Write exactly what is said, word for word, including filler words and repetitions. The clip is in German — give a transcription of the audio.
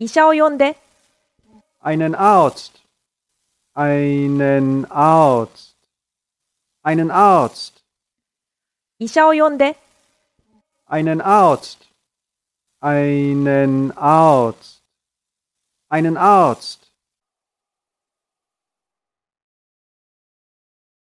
医者を呼んで。 Einen Arzt. Einen Arzt. Einen Arzt. 医者を呼んで。 Einen Arzt. Einen Arzt. Einen Arzt.